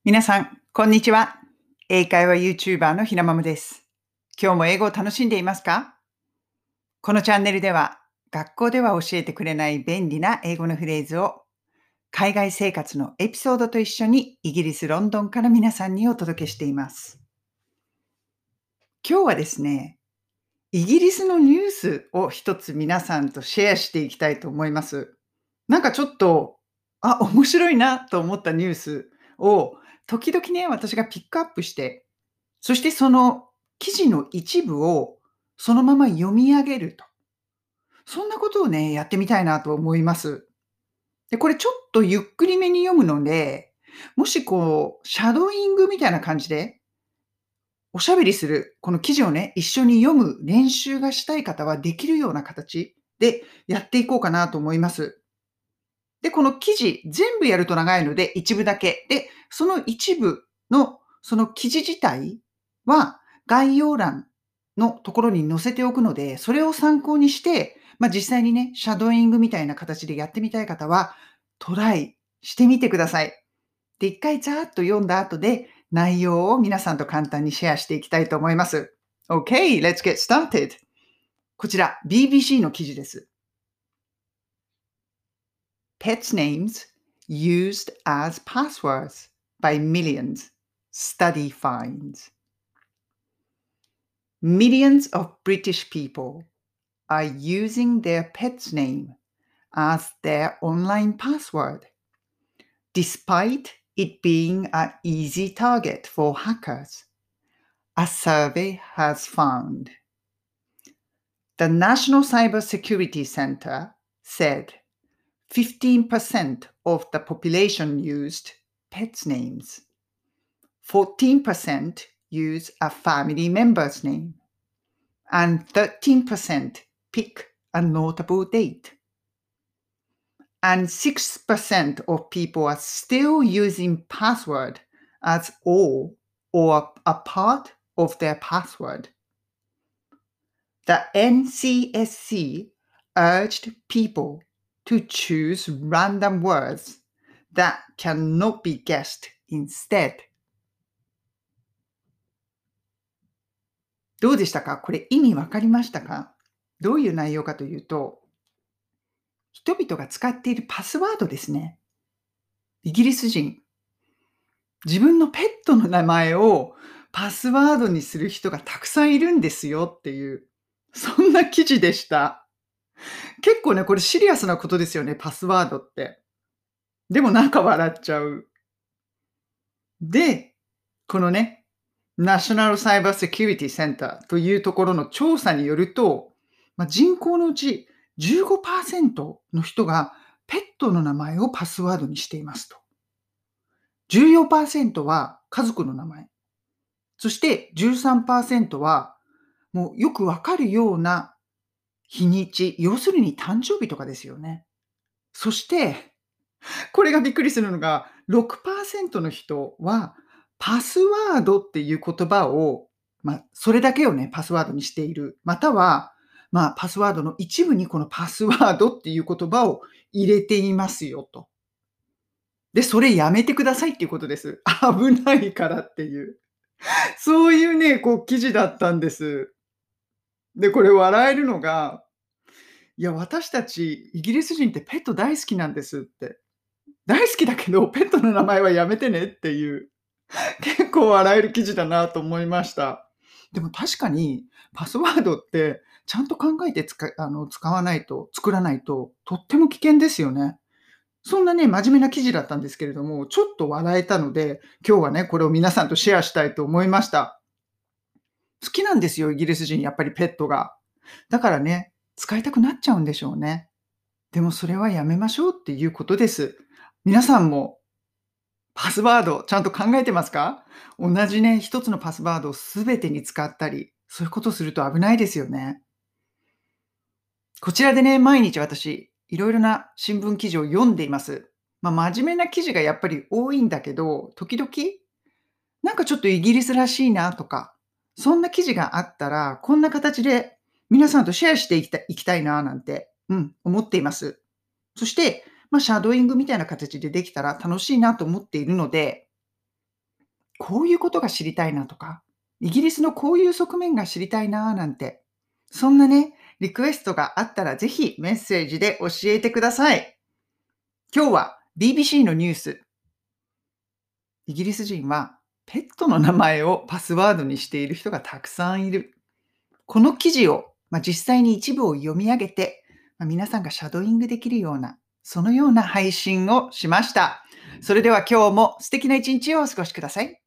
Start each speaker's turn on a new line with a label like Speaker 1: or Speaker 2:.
Speaker 1: 皆さん、こんにちは。英会話 YouTuber のひなまむです。今日も英語を楽しんでいますか？このチャンネルでは、学校では教えてくれない便利な英語のフレーズを、海外生活のエピソードと一緒にイギリス・ロンドンから皆さんにお届けしています。今日はですね、イギリスのニュースを一つ皆さんとシェアしていきたいと思います。なんかちょっと、面白いなと思ったニュースを、時々ね、私がピックアップして、そしてその記事の一部をそのまま読み上げると。そんなことをね、やってみたいなと思います。で、これちょっとゆっくりめに読むので、もしこう、シャドーイングみたいな感じで、おしゃべりする、この記事をね、一緒に読む練習がしたい方はできるような形でやっていこうかなと思います。で、この記事、全部やると長いので、一部だけ。で、その一部の、その記事自体は、概要欄のところに載せておくので、それを参考にして、実際にね、シャドーイングみたいな形でやってみたい方は、トライしてみてください。で、一回ざーっと読んだ後で、内容を皆さんと簡単にシェアしていきたいと思います。Okay, let's get started. こちら、BBC の記事です。Pets' names used as passwords by millions. Study finds. Millions of British people are using their pet's name as their online password, despite it being an easy target for hackers, a survey has found. The National Cybersecurity Center said 15% of the population used pets' names. 14% use a family member's name. And 13% pick a notable date. And 6% of people are still using password as all or a part of their password. The NCSC urged people to choose random words that cannot be guessed instead. どうでしたか？これ意味わかりましたか？どういう内容かというと、人々が使っているパスワードですね。イギリス人、自分のペットの名前をパスワードにする人がたくさんいるんですよっていう、そんな記事でした。結構ね、これシリアスなことですよね、パスワードって。でもなんか笑っちゃう。で、このね、ナショナルサイバーセキュリティセンターというところの調査によると、人口のうち15%の人がペットの名前をパスワードにしていますと。14%は家族の名前。そして13%はもうよくわかるような日にち、要するに誕生日とかですよね。そして、これがびっくりするのが、6%の人はパスワードっていう言葉を、それだけをね、パスワードにしている。または、パスワードの一部にこのパスワードっていう言葉を入れていますよと。で、それやめてくださいっていうことです。危ないからっていう。そういうね、記事だったんです。で、これ笑えるのが、いや、私たちイギリス人ってペット大好きなんですって。大好きだけど、ペットの名前はやめてねっていう、結構笑える記事だなと思いました。でも確かに、パスワードってちゃんと考えて使わないと、作らないと、とっても危険ですよね。そんなね、真面目な記事だったんですけれども、ちょっと笑えたので、今日はね、これを皆さんとシェアしたいと思いました。好きなんですよ、イギリス人、やっぱりペットが。だからね、使いたくなっちゃうんでしょうね。でもそれはやめましょうっていうことです。皆さんもパスワードちゃんと考えてますか？同じね、一つのパスワードを全てに使ったり、そういうことすると危ないですよね。こちらでね、毎日私、いろいろな新聞記事を読んでいます。真面目な記事がやっぱり多いんだけど、時々、なんかちょっとイギリスらしいなとか、そんな記事があったら、こんな形で皆さんとシェアしていきたいななんて、思っています。そして、シャドーイングみたいな形でできたら楽しいなと思っているので、 こういうことが知りたいなとか、イギリスのこういう側面が知りたいななんて、そんなね、リクエストがあったらぜひメッセージで教えてください。今日は BBC のニュース、イギリス人はペットの名前をパスワードにしている人がたくさんいる。この記事を、実際に一部を読み上げて、皆さんがシャドーイングできるような、そのような配信をしました。それでは今日も素敵な一日をお過ごしください。